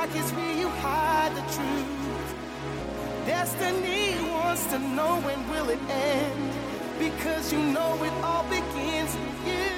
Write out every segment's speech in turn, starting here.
is where you hide the truth. Destiny wants to know when will it end, because you know it all begins with you.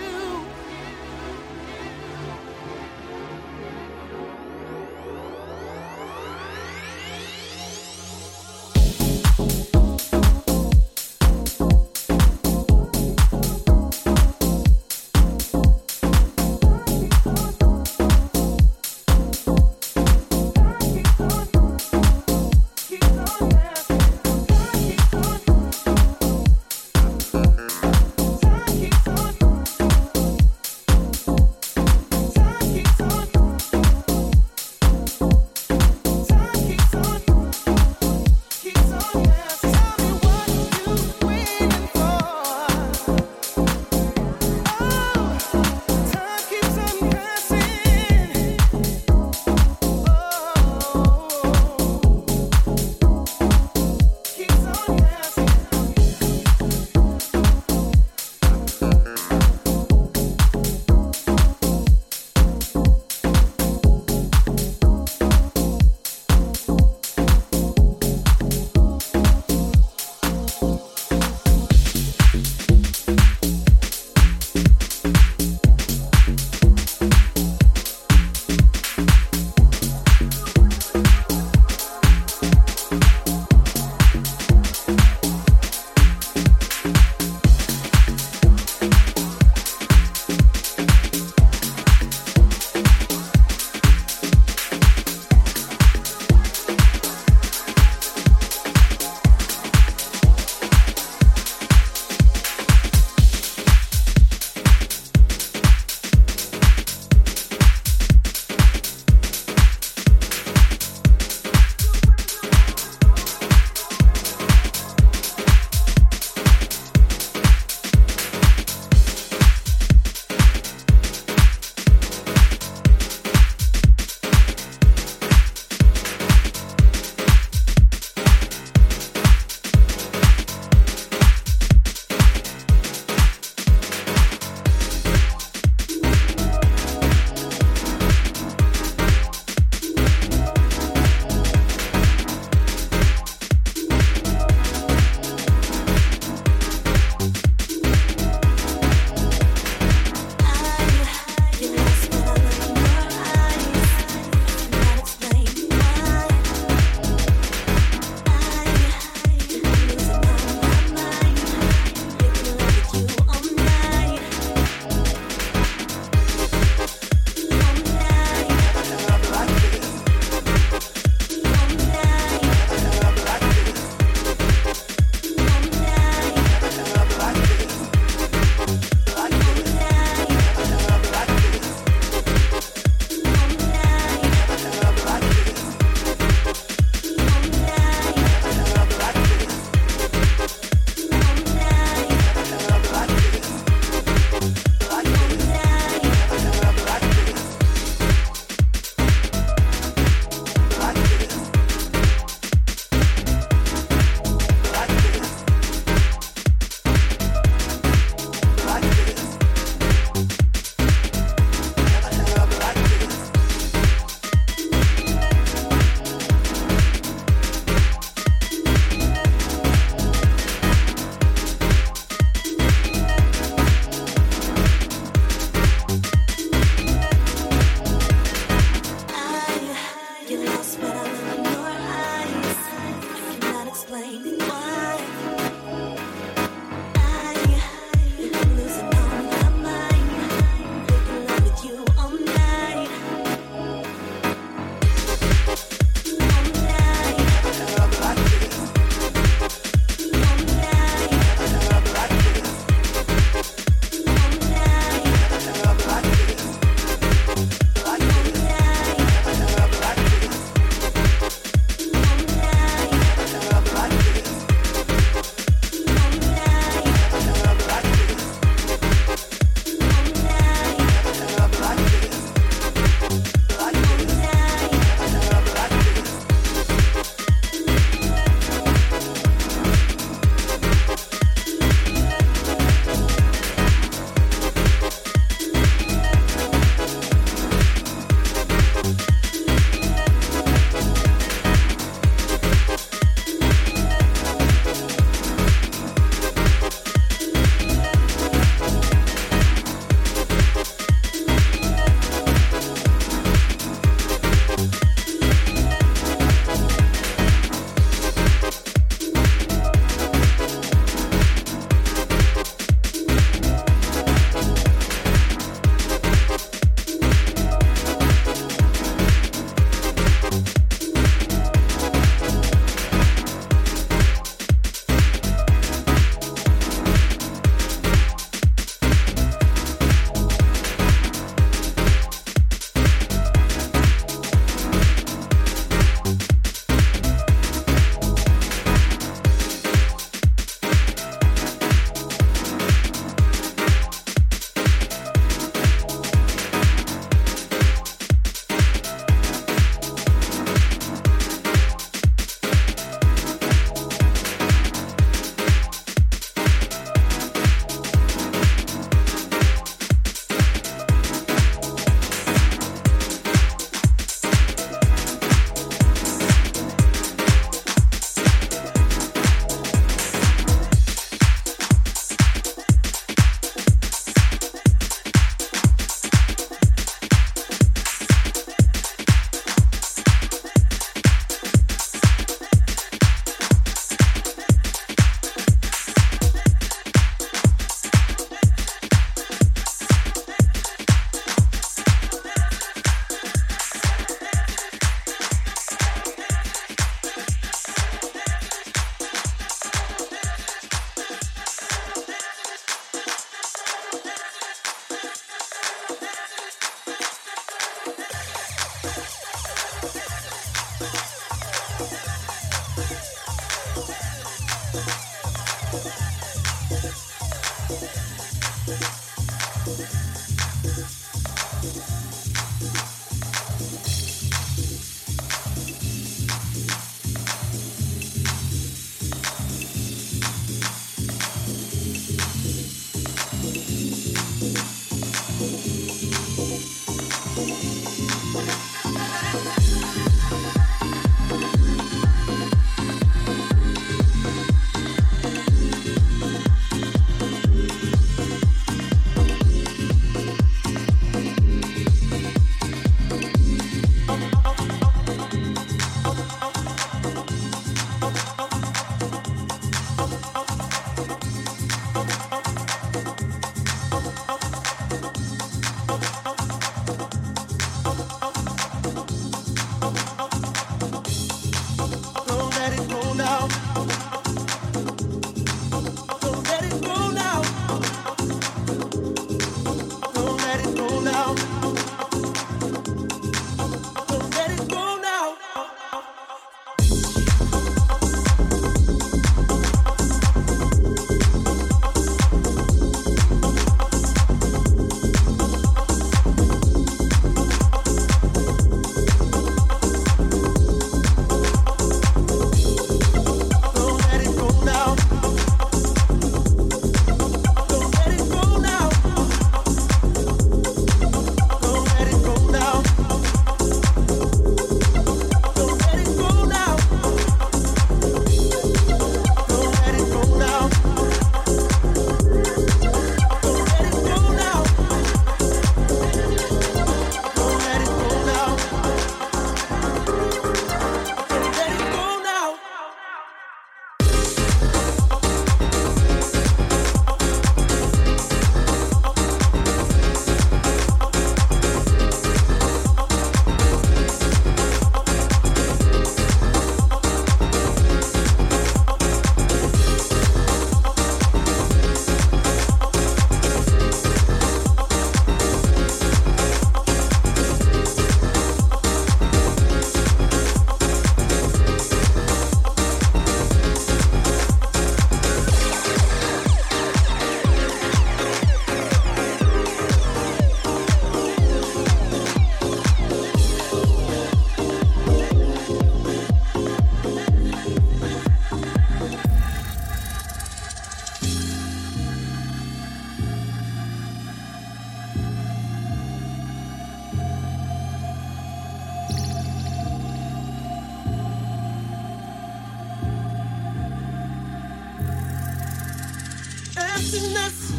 Emptiness,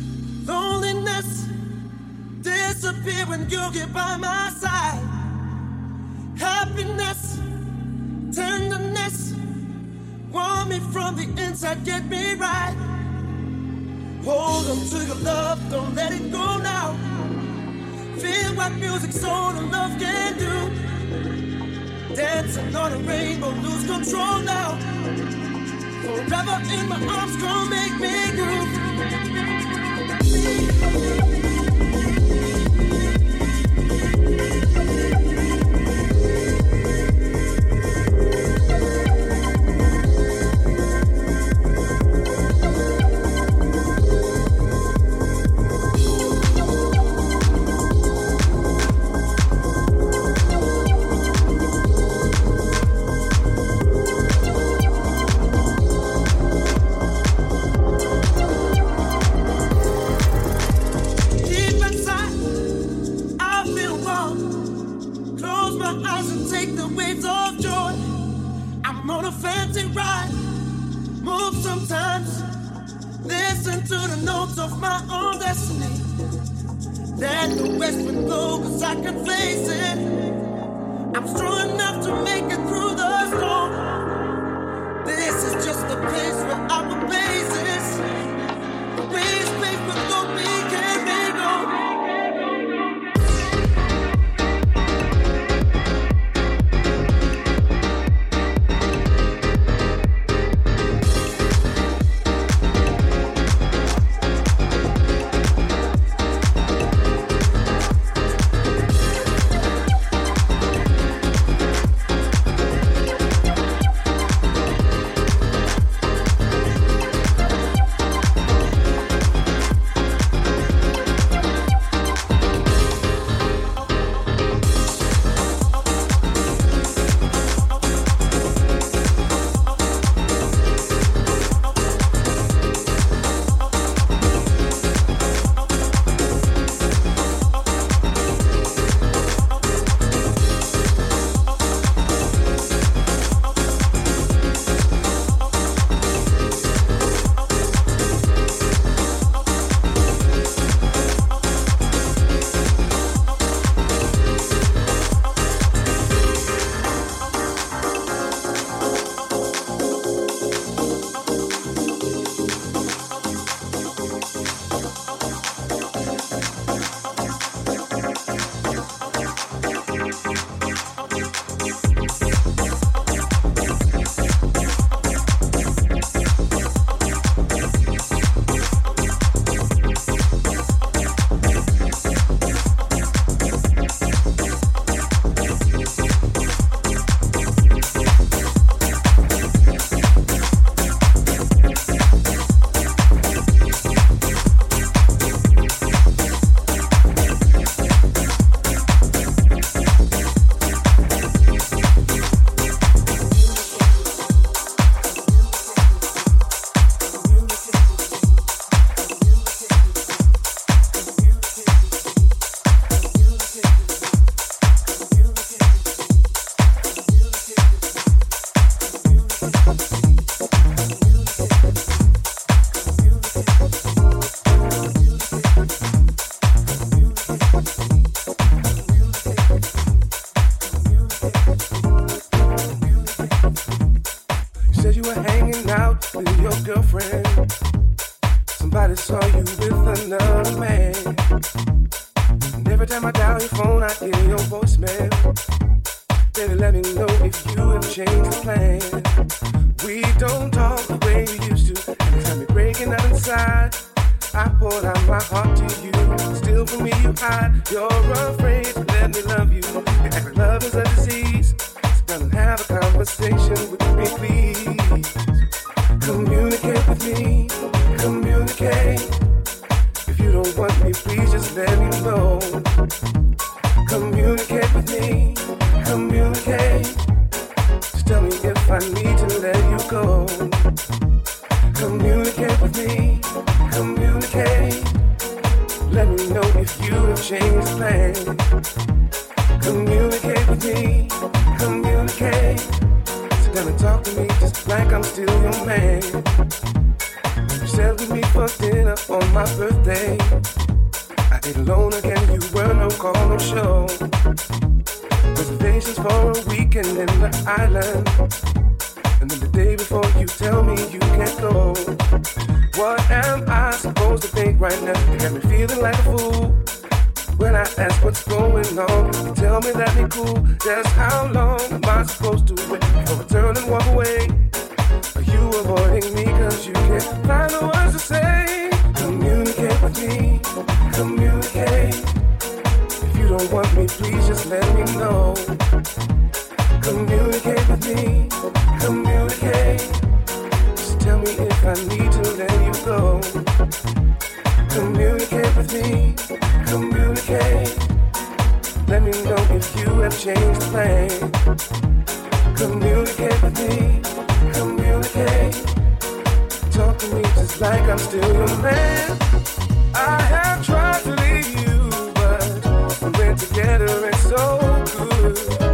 loneliness, disappear when you get by my side. Happiness, tenderness, warm me from the inside, get me right. Hold on to your love, don't let it go now. Feel what music, soul, and love can do. Dancing on a rainbow, lose control now. Forever in my arms, gon' make me groove. said you were hanging out with your girlfriend. Somebody saw you with another man. And every time I dial your phone, I hear your voicemail. Baby, let me know if you have changed the plan. We don't talk the way we used to. Every time you're breaking out inside, I poured out my heart to you. Still from me you hide. You're afraid to let me love you. You act like love is a disease. So come and have a conversation with me, please. Communicate with me. Communicate. If you don't want me, please just let me know. Communicate with me. Communicate. Just tell me if I need to let you go. Communicate with me. Communicate. Let me know if you have changed plan. Communicate with me. Communicate. Sit down and talk to me just like I'm still your man. You sat with me for dinner on my birthday. I ate alone again, you were no call, no show. Reservations for a weekend in the island. And then the day before you tell me you can't go. What am I supposed to think right now? You got me feeling like a fool. When I ask what's going on, you tell me that ain't cool. Just how long am I supposed to wait before I turn and walk away? Are you avoiding me cause you can't find the words to say? Communicate with me, communicate. If you don't want me, please just let me know. Communicate with me, communicate. Just tell me if I need to let you go. Communicate with me, communicate. Let me know if you have changed the plan. Communicate with me, communicate. Talk to me just like I'm still your man. I have tried to leave you, but we're together and so good.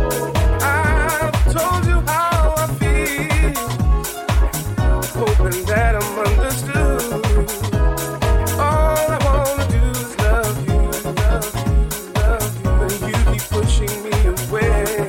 I've told you how I feel, hoping that I'm understood. All I wanna do is love you, love you, love you. And you keep pushing me away.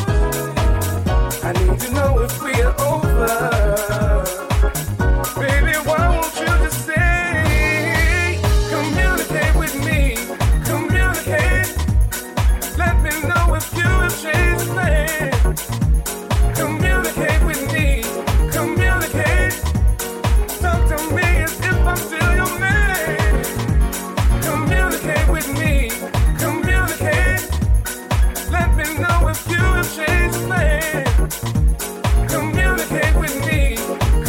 I need to know if we are over. Baby, why won't you just say, communicate with me, communicate. Let me know if you have changed plans. Communicate with me, communicate. Talk to me as if I'm still your man. Communicate with me, communicate. Let me know if you have changed plans. Communicate with me,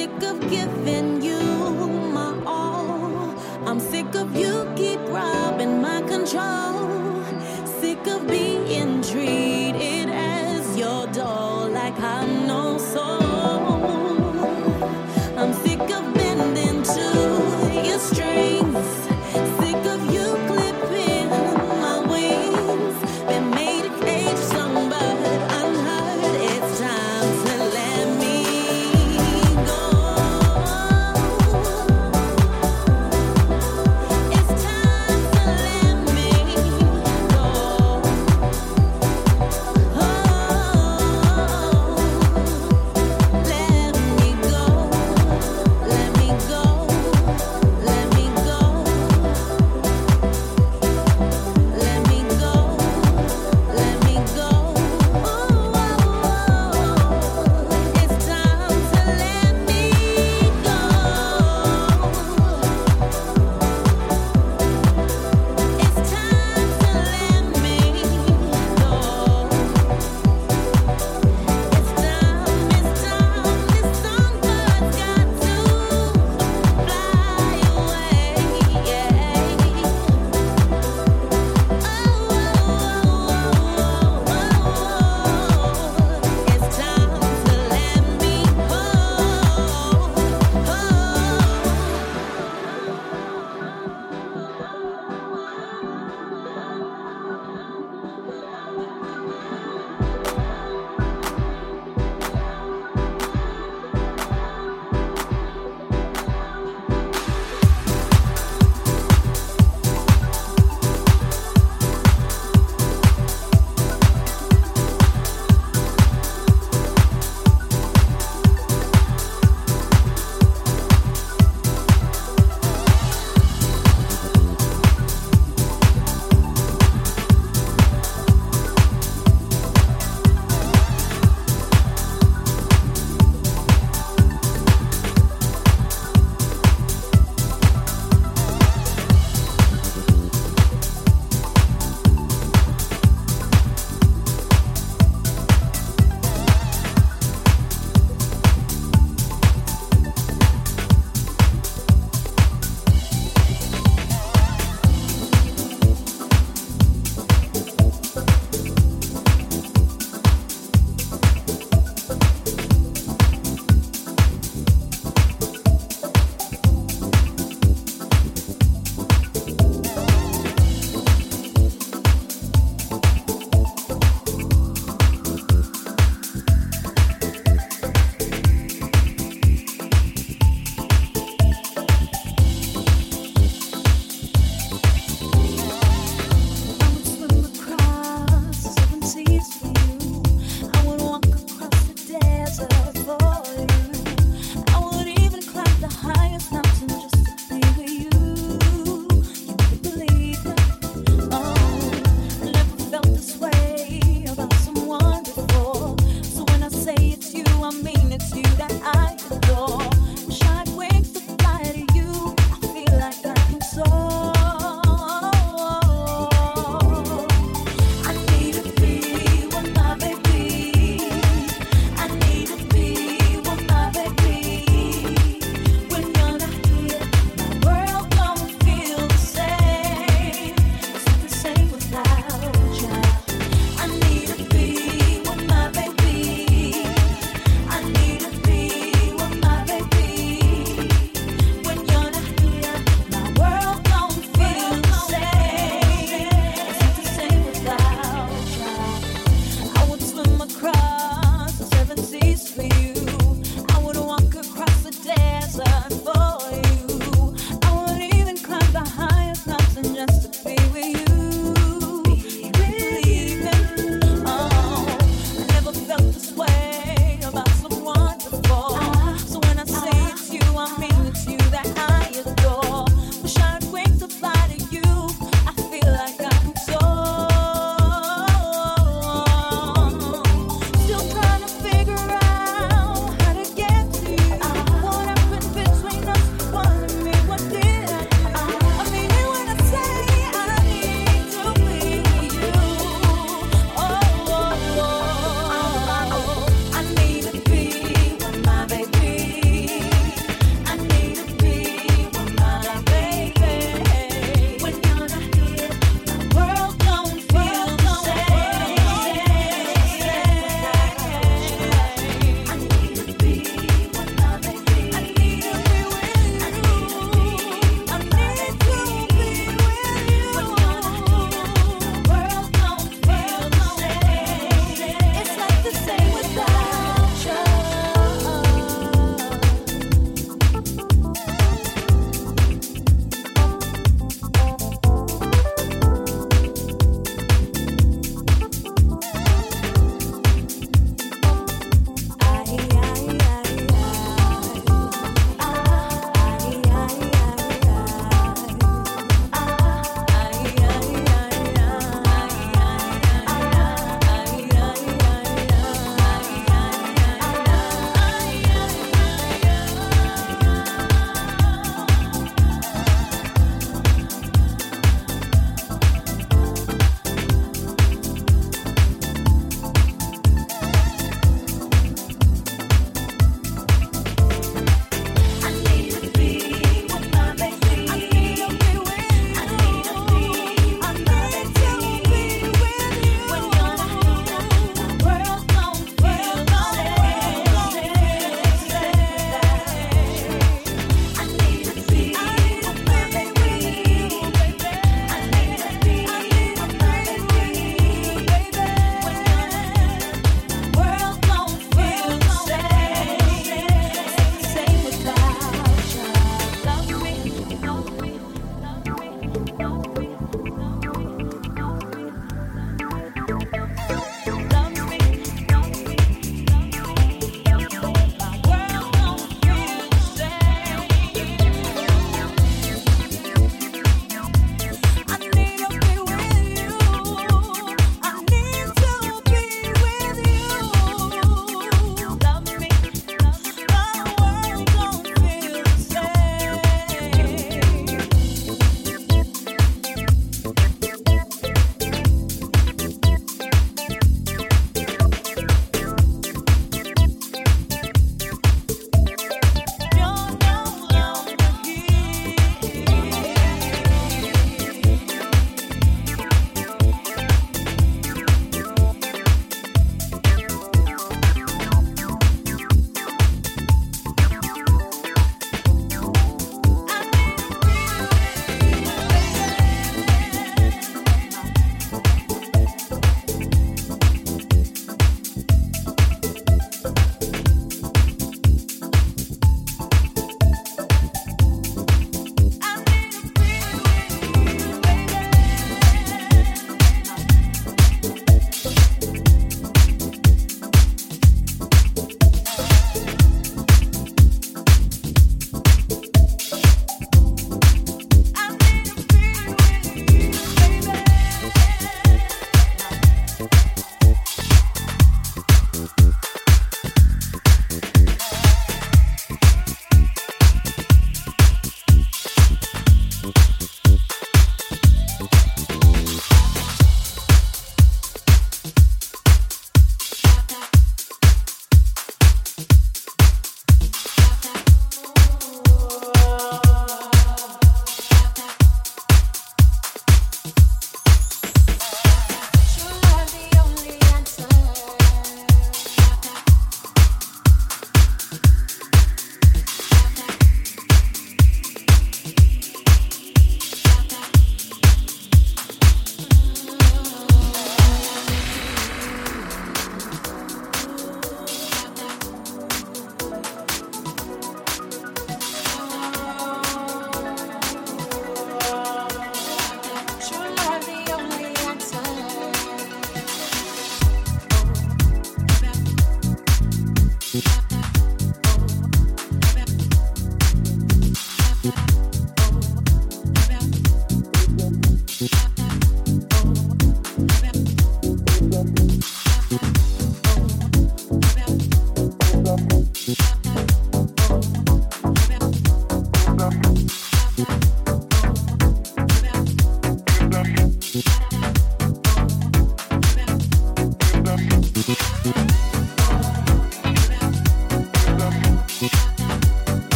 sick of giving you my all. I'm sick of you keep robbing my control. Sick of being treated as your doll like I'm no soul. I'm sick of bending to your strings. Sick of you clipping my wings. Been made a cage sung but unheard. It's time to let me go.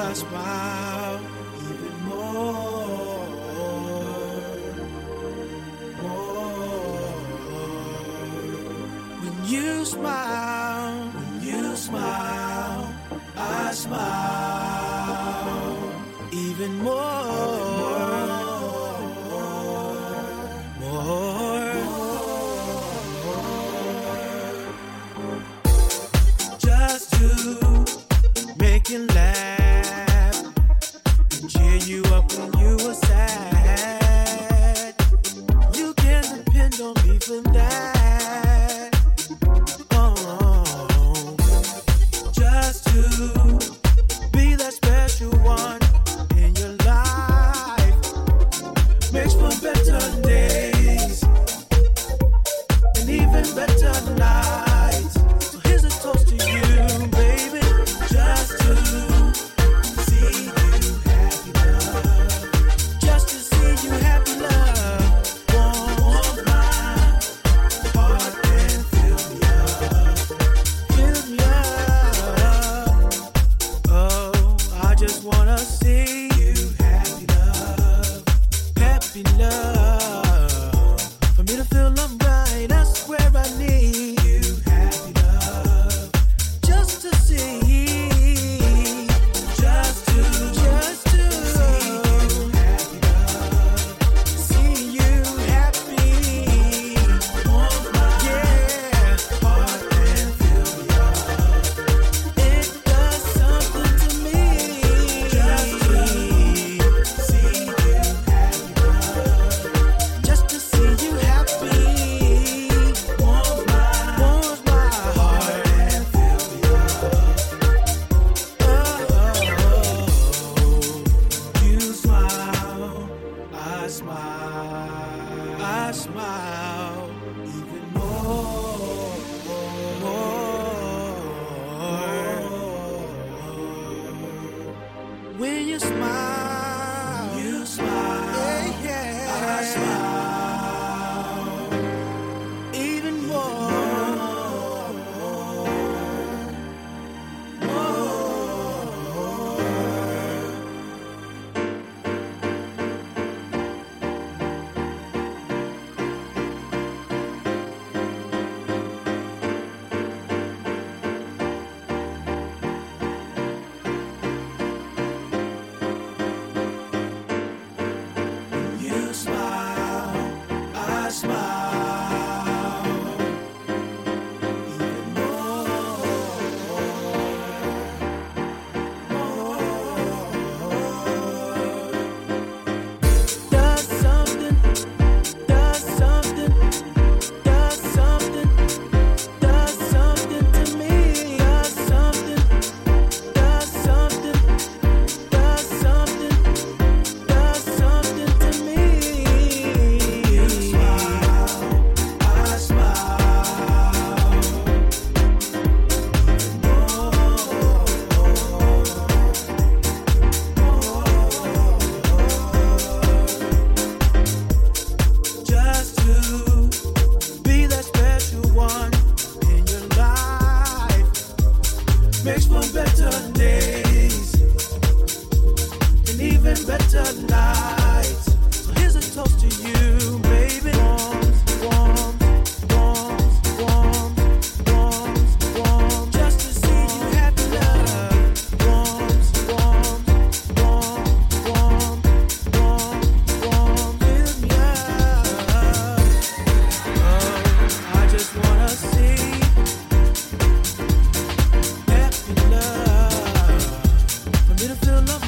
I smile even more. When you smile, I smile even more. Just to make you laugh and cheer you up when you were sad. You can depend on me for that. Just to be that special one in your life makes for better days and even better nights. So here's a toast to you, baby. Just to see you happy, love. Just to see you happy, love. Warm my heart and fill me up. Fill me up. Oh, I just wanna see you happy, love. Happy, love. For me to feel I'm right, that's where I need you happy, love. Just to see, just to see you happy, love. See you happy. Warm my heart and fill me up. It does something to me. Just to see you happy, love. Just to see you happy. Warm my heart and fill me up. Oh, you smile, I smile, I smile even more. When you smile, yeah, I smile even more. You smile, I smile even more. Does something to me. Does something to me. You smile, I smile even more. Just to be that special one in your life makes for better days and even better nights. So here's a toast to you, baby. Warm. Just to see you happy, love. Warm. Fill me up. Oh, I just wanna see happy, love. For me to feel love.